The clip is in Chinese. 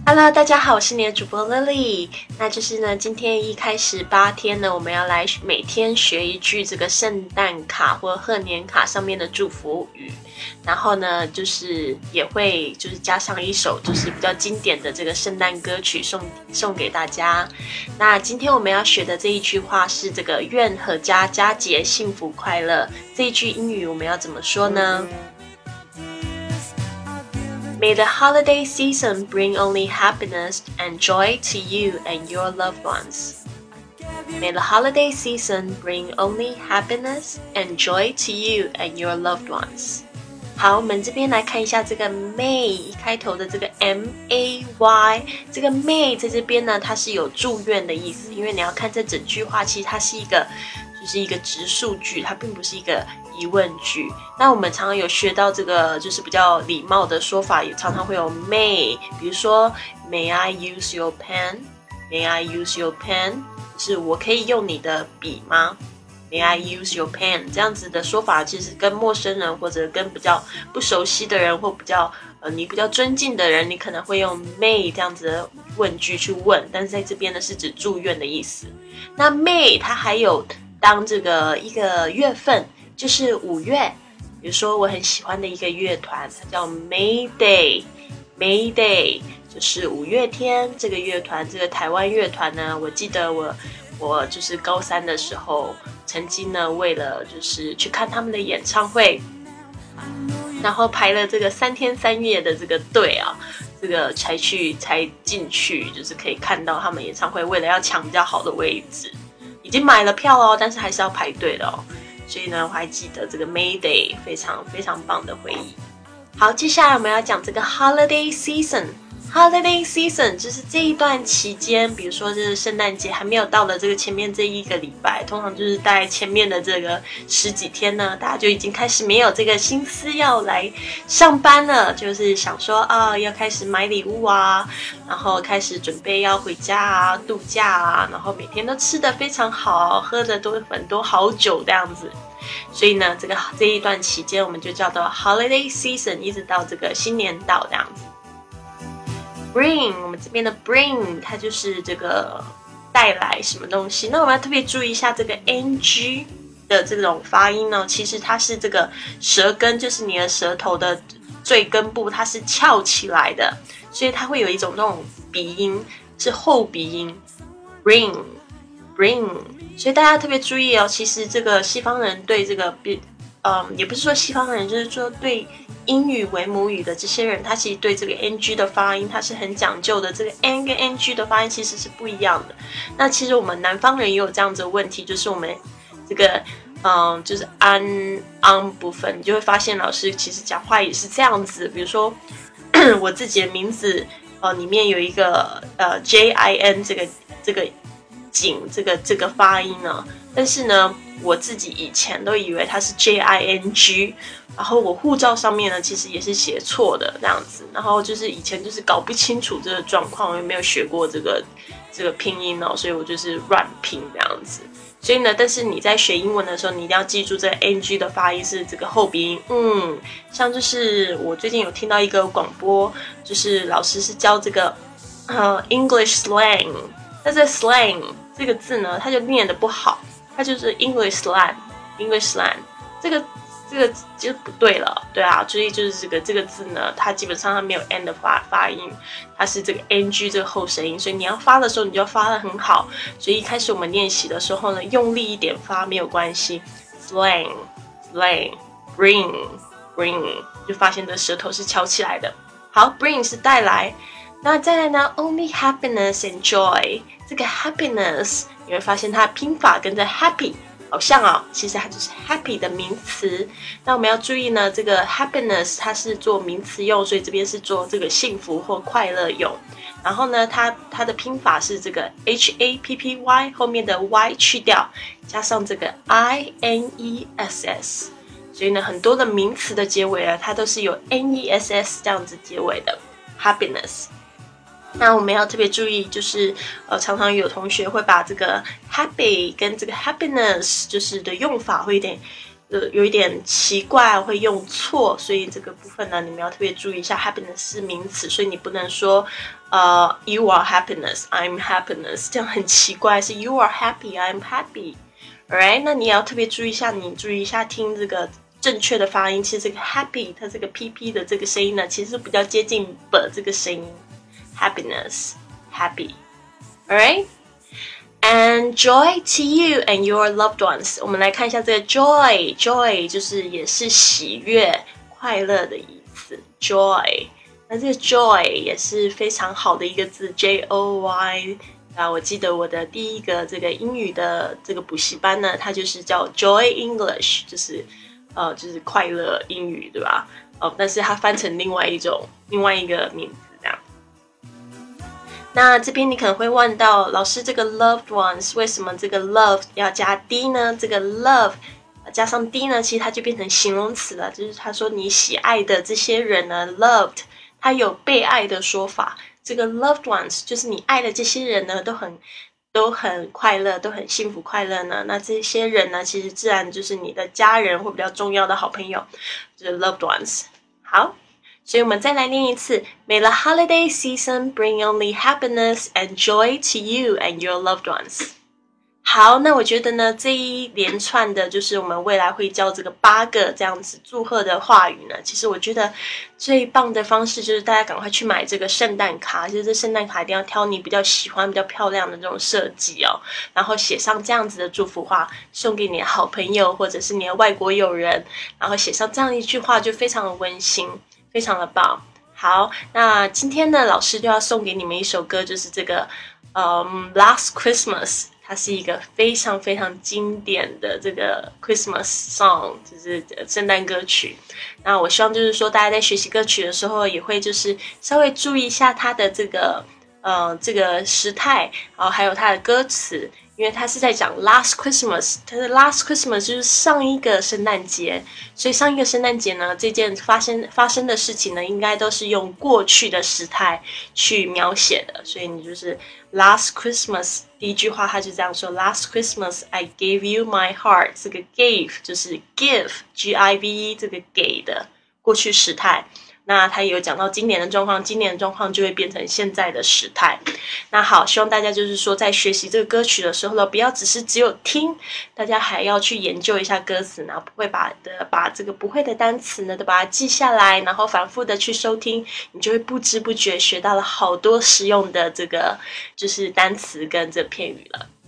Hello， 大家好，我是你的主播 Lily。那就是呢，今天一开始8天呢，我们要来每天学一句这个圣诞卡或贺年卡上面的祝福语。然后呢，就是也会就是加上一首就是比较经典的这个圣诞歌曲送给大家。那今天我们要学的这一句话是这个愿阖家佳节幸福快乐。这一句英语我们要怎么说呢？May the holiday season bring only happiness and joy to you and your loved ones. May the holiday season bring only happiness and joy to you and your loved ones. 好，我们这边来看一下这个 May 一开头的这个 M-A-Y， 这个 May 在这边呢，它是有祝愿的意思，因为你要看这整句话，其实它是一个直述句，它并不是一个疑问句。那我们常常有学到这个就是比较礼貌的说法，也常常会有 may， 比如说 May I use your pen? May I use your pen? 就是我可以用你的笔吗？ May I use your pen? 这样子的说法其实跟陌生人或者跟比较不熟悉的人或你比较尊敬的人，你可能会用 may 这样子的问句去问，但是在这边呢是指祝愿的意思。那 May 它还有当这个一个月份，就是5月，比如说我很喜欢的一个乐团，它叫 Mayday， 就是5月天这个乐团，这个台湾乐团呢，我记得我就是高3的时候，曾经呢为了就是去看他们的演唱会，然后排了这个3天3夜的这个队啊，这个才进去，就是可以看到他们演唱会，为了要抢比较好的位置。已经买了票哦，但是还是要排队的哦。所以呢，我还记得这个 Mayday 非常非常棒的回忆。好，接下来我们要讲这个 Holiday Season。Holiday Season 就是这一段期间，比如说这是圣诞节还没有到的这个前面这一个礼拜，通常就是大概前面的这个10几天呢，大家就已经开始没有这个心思要来上班了，就是想说要开始买礼物啊，然后开始准备要回家啊、度假啊，然后每天都吃得非常好，喝的都很多好酒这样子。所以呢，这一段期间我们就叫做 Holiday Season， 一直到这个新年到这样子。Bring， 我们这边的 bring 它就是这个带来什么东西。那我们要特别注意一下这个 ng 的这种发音呢，其实它是这个舌根，就是你的舌头的最根部，它是翘起来的，所以它会有一种那种鼻音，是后鼻音 bring。所以大家特别注意哦，其实这个西方人对这个也不是说西方人，就是说对英语为母语的这些人，他其实对这个 ng 的发音他是很讲究的，这个 n 跟 ng 的发音其实是不一样的。那其实我们南方人也有这样子的问题，就是我们这个就是 an 部分，你就会发现老师其实讲话也是这样子。比如说我自己的名字里面有一个jin 这个景这个发音啊，但是呢我自己以前都以为它是 jing， 然后我护照上面呢其实也是写错的这样子，然后就是以前就是搞不清楚这个状况，我也没有学过这个拼音哦，所以我就是乱拼这样子。所以呢，但是你在学英文的时候，你一定要记住这个 ng 的发音是这个后鼻音。像就是我最近有听到一个广播，就是老师是教这个English slang， 那这 slang 这个字呢，它就念得不好。它就是 English slang， 这个就不对了，对啊，所以就是这个字呢，它基本上它没有 n 的发音，它是这个 ng 这个后声音，所以你要发的时候你就要发得很好。所以一开始我们练习的时候呢，用力一点发没有关系 ，slang bring 就发现这舌头是翘起来的。好 ，bring 是带来，那再来呢 ，only happiness and joy， 这个 happiness。你会发现它的拼法跟着 happy 好像哦，其实它就是 happy 的名词。那我们要注意呢，这个 happiness 它是做名词用，所以这边是做这个幸福或快乐用。然后呢，它的拼法是这个 happy 后面的 y 去掉，加上这个 iness。所以呢，很多的名词的结尾呢，它都是有 ness 这样子结尾的 happiness。那我们要特别注意，就是常常有同学会把这个 happy 跟这个 happiness 就是的用法会有点有一点奇怪，会用错，所以这个部分呢，你们要特别注意一下。happiness 是名词，所以你不能说you are happiness, I'm happiness， 这样很奇怪，是 you are happy, I'm happy。Alright， 那你也要特别注意一下，听这个正确的发音。其实这个 happy 它这个 pp 的这个声音呢，其实比较接近 b 这个声音 ，happiness, happy。Alright。And joy to you and your loved ones。我们来看一下这个 joy 就是也是喜悦、快乐的意思 joy。那这个 joy 也是非常好的一个字 J-O-Y。我记得我的第一个这个英语的这个补习班呢，它就是叫 Joy English， 就是快乐英语，对吧？但是它翻成另外一个名字。那这边你可能会问到，老师这个 loved ones 为什么这个 love 要加 d 呢？这个 love 加上 d 呢，其实它就变成形容词了，就是他说你喜爱的这些人呢 loved， 它有被爱的说法。这个 loved ones 就是你爱的这些人呢都很快乐，都很幸福快乐呢。那这些人呢，其实自然就是你的家人或比较重要的好朋友，就是 loved ones。好。所以我们再来念一次 May the holiday season bring only happiness and joy to you and your loved ones。 好，那我觉得呢，这一连串的就是我们未来会教这个8个这样子祝贺的话语呢，其实我觉得最棒的方式就是大家赶快去买这个圣诞卡，其实这圣诞卡一定要挑你比较喜欢比较漂亮的这种设计哦，然后写上这样子的祝福话送给你的好朋友或者是你的外国友人，然后写上这样一句话就非常的温馨，非常的棒。好，那今天呢，老师就要送给你们一首歌，就是这个Last Christmas， 它是一个非常非常经典的这个 Christmas song， 就是圣诞歌曲。那我希望就是说大家在学习歌曲的时候也会就是稍微注意一下它的这个时态，还有它的歌词。因为他是在讲 Last Christmas， 他的 Last Christmas 就是上一个圣诞节，所以上一个圣诞节呢，这件发生的事情呢，应该都是用过去的时态去描写的，所以你就是 Last Christmas 第一句话他就这样说 Last Christmas I gave you my heart， 这个 gave 就是 give G-I-V-E 这个给的过去时态。那他也有讲到今年的状况，今年的状况就会变成现在的时态。那好，希望大家就是说在学习这个歌曲的时候呢，不要只有听，大家还要去研究一下歌词，然后不会把这个不会的单词呢都把它记下来，然后反复的去收听，你就会不知不觉学到了好多实用的这个就是单词跟这片语了。